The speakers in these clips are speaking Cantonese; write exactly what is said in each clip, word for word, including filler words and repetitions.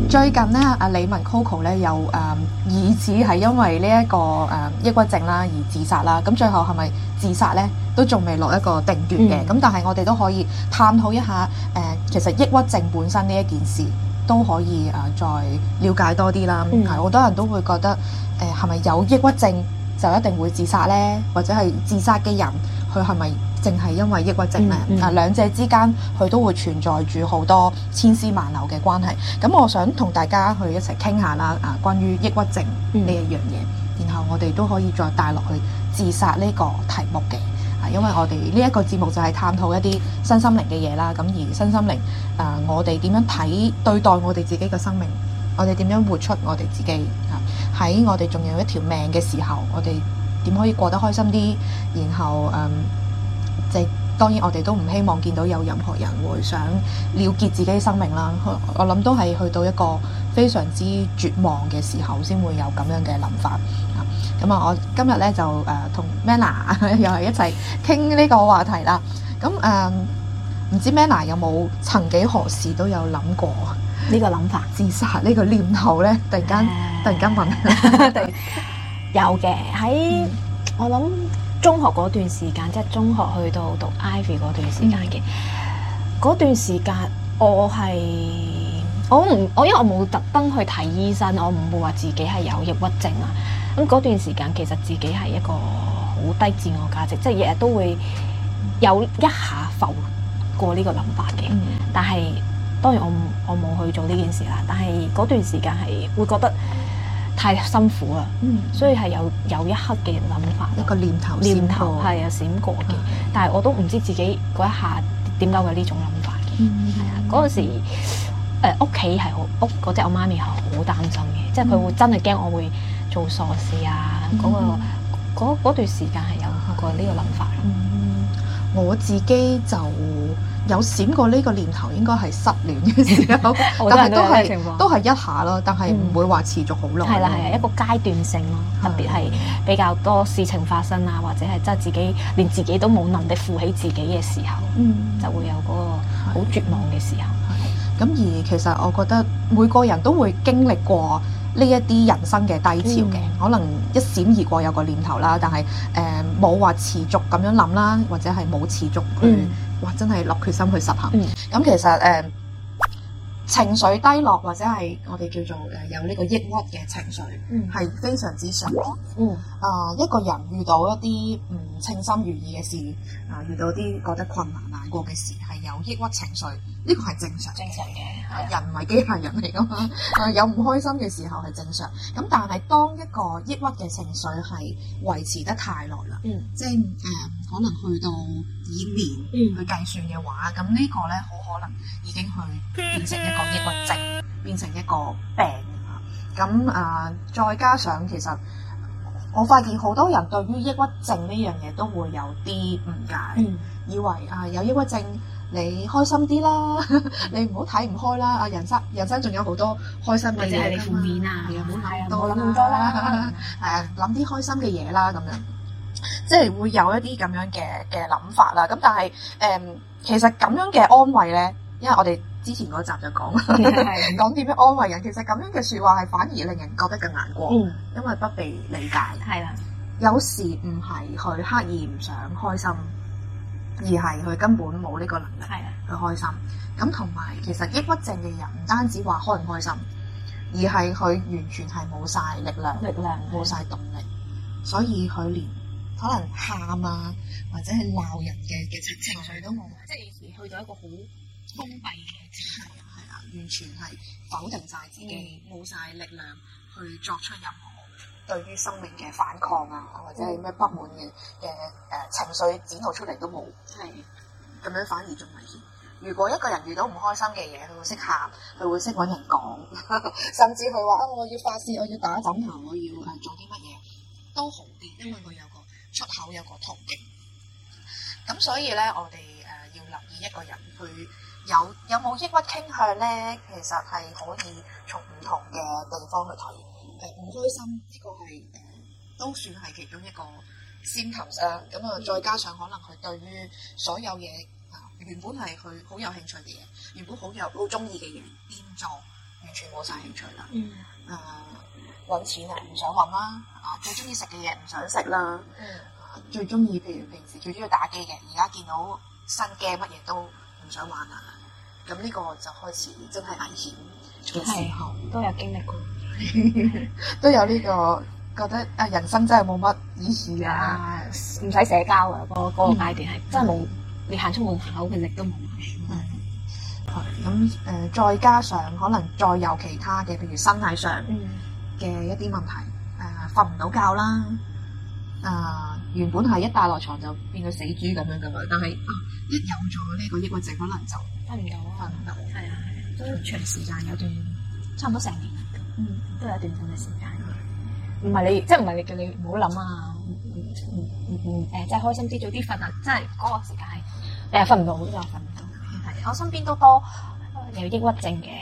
最近咧，阿李玟 Coco 咧又誒疑似係因為呢、這、一個誒、呃、抑鬱症啦而自殺啦。咁最後係咪自殺咧，都仲未落一個定斷嘅。咁、嗯、但係我哋都可以探討一下誒、呃，其實抑鬱症本身呢一件事都可以誒、呃、再了解多啲啦。係好、嗯、多人都會覺得誒係咪有抑鬱症就一定會自殺咧，或者係自殺嘅人佢係咪淨係因為抑鬱症咧？啊、嗯嗯，兩者之間佢都會存在住好多千絲萬縷嘅關係。咁我想同大家去一齊傾下啦，啊，關於抑鬱症呢一樣嘢，嗯、然後我哋都可以再帶落去自殺呢個題目嘅。啊，因為我哋呢一個節目就係探討一啲身心靈嘅嘢啦。咁而身心靈啊，我哋點樣睇對待我哋自己嘅生命？我哋點樣活出我哋自己？啊，喺我哋仲有一條命嘅時候，我哋點可以過得開心啲？然後嗯。即係當然，我哋都唔希望見到有任何人會想了結自己生命啦。我諗都係去到一個非常之絕望嘅時候，先會有咁樣嘅諗法。咁啊，我今日咧就誒同 Manna 又係一齊傾呢個話題啦。咁誒唔知 Manna 有冇曾幾何時都有諗過呢個諗法， 自殺呢個念頭咧？突然間、uh, 突然間問， 有嘅喺、嗯、我諗。中學嗰段時間，即係中學去到讀 Ivy 嗰段時間嘅嗰、嗯、段時間，我係我唔我因為我冇特登去睇醫生，我唔會話自己係有抑鬱症啊。咁嗰段時間其實自己係一個好低自我價值，即係日日都會有一下浮過呢個諗法嘅。嗯、但係當然我我冇去做呢件事啦。但係嗰段時間係會覺得太辛苦啦，嗯、所以係有有一刻嘅諗法， 一個念頭念頭係啊閃過嘅，嗯、但係我都唔知自己嗰一下點解會有呢種諗法嘅。係啊、嗯，嗰陣時誒屋企係好屋嗰隻我媽咪係好擔心嘅，即係佢會真係驚我會做傻事啊。嗰、嗯嗰個段時間係有過呢個諗法咯。 嗯，我自己就有閃過呢個念頭，應該係失戀嘅時候，但係都係都係一下咯，但係唔會話持續好耐。 係啦係啊，一個階段性咯，特別係比較多事情發生啊，或者係真係自己連自己都冇能力負起自己嘅時候，嗯、就會有嗰個好絕望嘅時候。 咁而其實我覺得每個人都會經歷過呢一啲人生嘅低潮嘅，嗯、可能一閃而過有個念頭啦，但係誒冇話持續咁樣諗啦，或者係冇持續去。嗯哇！真係落決心去實行。咁、嗯、其實誒、呃、情緒低落或者係我哋叫做誒有呢個抑鬱嘅情緒，係、嗯、非常之常見。嗯啊、呃，一個人遇到一啲唔稱心如意嘅事，啊、呃、遇到啲覺得困難難過嘅事，係有抑鬱情緒，呢、這個係正常正常嘅。人唔係機械人嚟㗎嘛，啊有唔開心嘅時候係正常。咁但係當一個抑鬱嘅情緒係維持得太耐啦，嗯，即係誒、呃、可能去到以年去計算嘅話，咁、嗯、呢個咧好可能已經去變成一個抑鬱症，變成一個病啊。咁啊、呃，再加上其實我發現好多人對於抑鬱症呢樣嘢都會有啲誤解，嗯、以為啊、呃、有抑鬱症你開心啲啦，你唔好睇唔開啦。啊人生人生仲有好多開心嘅嘢，或者係你負面啊，唔好諗咁多啦，誒諗啲開心嘅嘢啦咁樣。即係會有一啲咁樣嘅嘅諗法啦，咁但係誒、嗯，其實咁樣嘅安慰咧，因為我哋之前嗰集就講講點樣安慰人，其實咁樣嘅説話係反而令人覺得更難過，嗯、因為不被理解。係啦的，有時唔係佢刻意唔想開心，而係佢根本冇呢個能力去開心。咁同埋其實抑鬱症嘅人唔單止話開唔開心，而係佢完全係冇晒力量，力量冇晒動力，所以佢連可能喊啊，或者係鬧人嘅嘅情情緒都冇，即係去到一個好封閉嘅狀態，係啊，完全係否定晒自己，冇晒、嗯、力量去作出任何對於生命嘅反抗啊，或者係咩不滿嘅嘅誒情緒展露出嚟都冇，係咁樣反而仲危險。如果一個人遇到唔開心嘅嘢，佢會識喊，佢會識揾人講，甚至佢話啊，我要發泄，我要打枕頭，我要誒做啲乜嘢都好啲，因為佢有個出口，有個途徑。咁所以咧，我哋誒、呃、要留意一個人佢有有冇抑鬱傾向咧，其實係可以從唔同嘅地方去睇。誒、呃、唔開心呢、這個係誒、呃、都算係其中一個 symptoms 啦。咁啊，再加上可能佢對於所有嘢啊、呃、原本係佢好有興趣嘅嘢，原本好有好中意嘅嘢變咗， 完全冇晒興趣啦。 嗯。 誒揾錢啊，唔想揾啦。啊，最中意食嘅嘢唔想食啦。 嗯。 最中意譬如平時最中意打機嘅，而家見到新 game 乜嘢都唔想玩啦。咁呢個就開始真係危險嘅時候， 都有經歷過， 都有呢、這個覺得啊人生真係冇乜意義啊， 唔使社交啊，嗰、那、嗰、個那個階段係、嗯、真係冇，你行出門口嘅力都冇。 係咁誒，再加上可能再有其他嘅，譬如身體上嘅一啲問題，誒瞓唔到覺啦，誒、呃、原本係一大落床就變到死豬咁樣噶嘛，但係啊一有咗呢個抑鬱症，可能就瞓唔到， 瞓唔到， 係啊係，都長時間有段差唔多成年，嗯，都有一段咁嘅時間。唔係你，即係唔係你叫你唔好諗啊，唔唔唔唔誒，即係開心啲，早啲瞓啊！即係嗰個時間係誒瞓唔到，就瞓唔到。係我身邊都多有抑鬱症嘅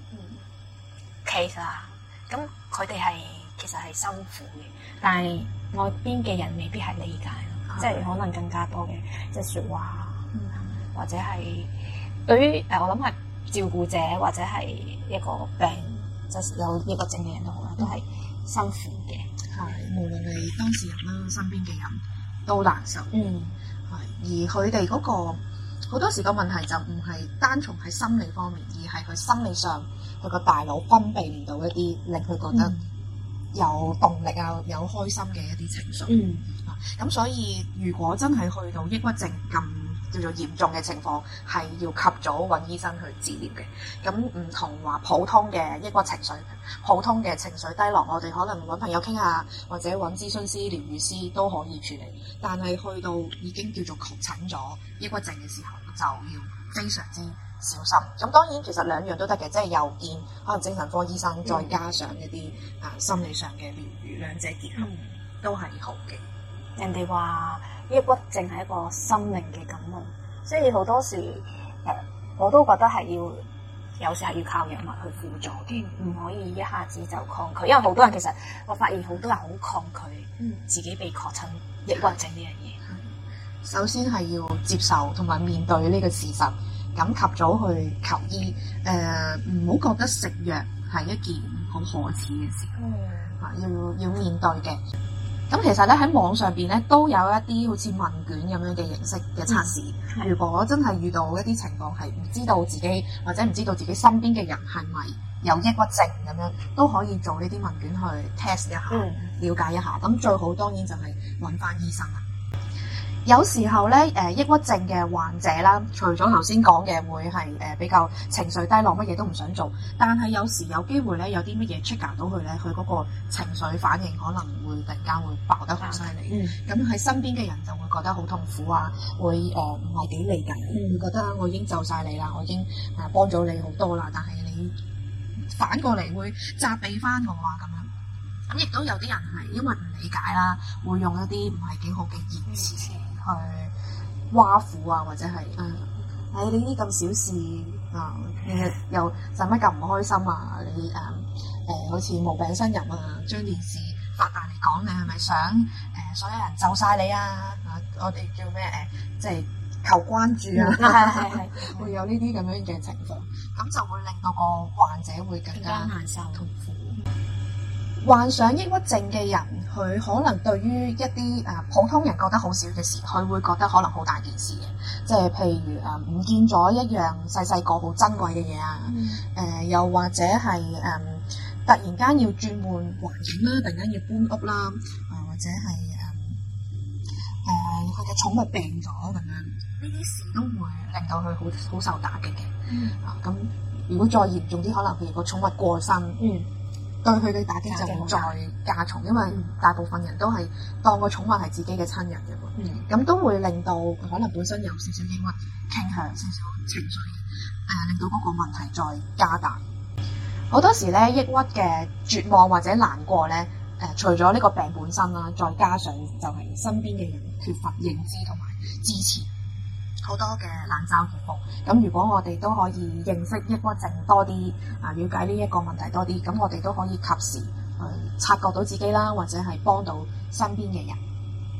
case 啊，咁佢哋係其實係辛苦嘅，但係外邊嘅人未必係理解咯，即係可能更加多嘅即係説話，或者係對於誒我諗係照顧者或者係一個病即係有抑鬱症嘅人都好啦，都係辛苦嘅。 係無論係當事人啦，身邊嘅人都難受。 嗯， 係而佢哋嗰個好多時個問題就唔係單從喺心理方面，而係佢心理上佢個大腦分泌唔到一啲令佢覺得有動力啊、有開心嘅一啲情緒。 嗯， 咁所以如果真係去到抑鬱症咁叫做嚴重嘅情況，係要及早揾醫生去治療嘅。咁唔同話普通嘅抑鬱情緒，普通嘅情緒低落，我哋可能揾朋友傾下，或者揾諮詢師、療愈師都可以處理。但係去到已經叫做確診咗抑鬱症嘅時候，就要非常之小心。咁當然其實兩樣都得嘅，即係又見可能精神科醫生，再加上一啲啊心理上嘅療愈，兩者結合都係好嘅。 人哋話抑鬱症係一個心靈嘅感冒，所以好多時誒我都覺得係要有時係要靠藥物去輔助嘅，唔可以一下子就抗拒。因為好多人其實我發現好多人好抗拒自己被確診抑鬱症呢樣嘢。 首先係要接受同埋面對呢個事實，咁及早去求醫。誒唔好覺得食藥係一件好可恥嘅事，啊、嗯、要要面對嘅。咁其實咧喺網上邊咧都有一啲好似問卷咁樣嘅形式嘅測試。嗯、如果真係遇到一啲情況係唔知道自己或者唔知道自己身邊嘅人係咪有抑鬱症咁樣，都可以做呢啲問卷去 test 一下，嗯、了解一下。咁最好當然就係揾翻醫生啦。有時候咧，誒抑鬱症嘅患者啦，除咗頭先講嘅會係誒比較情緒低落，乜嘢都唔想做，但係有時有機會咧，有啲乜嘢 trigger 到佢咧，佢嗰個情緒反應可能會突然間會爆得好犀利。咁喺、嗯、身邊嘅人就會覺得好痛苦啊，會誒唔係幾理解，嗯、會覺得我已經就晒你啦，我已經誒幫咗你好多啦，但係你反過嚟會責備翻我啊咁樣。咁亦都有啲人係因為唔理解啦，會用一啲唔係幾好嘅言辭去挖苦啊，或者係誒，誒你呢啲咁小事啊，你又使乜咁唔開心啊？你誒誒、呃、好似無病呻吟啊，將件事發大嚟講，你係咪想誒、呃、所有人就晒你啊？啊，我哋叫咩誒、呃，即係求關注啊，係係係，會有呢啲咁樣嘅情況，咁就會令到個患者會更加難受痛苦。患上抑鬱症嘅人，佢可能對於一啲誒、呃、普通人覺得好少嘅事，佢會覺得可能好大件事嘅，即係譬如誒唔、呃、見咗一樣細細個好珍貴嘅嘢啊，誒、嗯呃、又或者係誒、呃、突然間要轉換環境啦，突然間要搬屋啦，誒、呃、或者係誒誒佢嘅寵物病咗咁樣，呢啲事都會令到佢好好受打擊嘅。嗯、啊咁，如果再嚴重啲，可能譬如個寵物過身。嗯對佢嘅打擊就會再加重，因為大部分人都係當個寵物係自己嘅親人嘅喎，咁、嗯、都會令到可能本身有少少抑鬱傾向、少少情緒，誒、呃、令到嗰個問題再加大。好多時咧，抑鬱嘅絕望或者難過咧，誒、呃、除咗呢個病本身啦，再加上就係身邊嘅人缺乏認知同埋支持。好多嘅冷嘲熱諷，咁如果我哋都可以認識抑鬱症多啲，啊了解呢一個問題多啲，咁我哋都可以及時去察覺到自己啦，或者係幫到身邊嘅人。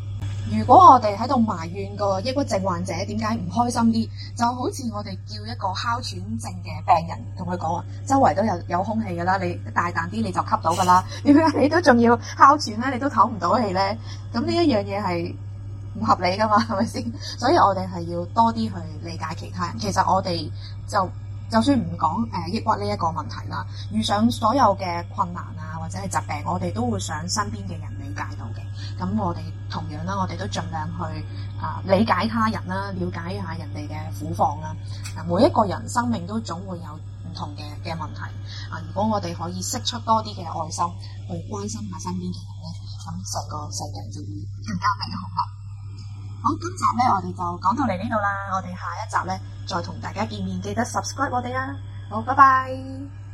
如果我哋喺度埋怨個抑鬱症患者點解唔開心啲，就好似我哋叫一個哮喘症嘅病人同佢講話，周圍都有有空氣㗎啦，你大啖啲你就吸到㗎啦，點解你都仲要哮喘咧？你都唞唔到氣咧？咁呢一樣嘢係唔合理㗎嘛，係咪先？所以我哋係要多啲去理解其他人。其實我哋就就算唔講誒抑鬱呢一個問題啦，遇上所有嘅困難啊或者係疾病，我哋都會想身邊嘅人理解到嘅。咁我哋同樣啦，我哋都盡量去啊、呃、理解他人啦，了解一下人哋嘅苦況啦。啊，每一個人生命都總會有唔同嘅嘅問題啊。如果我哋可以釋出多啲嘅愛心，去關心下身邊嘅人咧，咁成個世界就會更加美好啦。好，今集咧我哋就講到嚟呢度啦。我哋下一集咧再同大家見面，記得 subscribe 我哋啊。好，拜拜。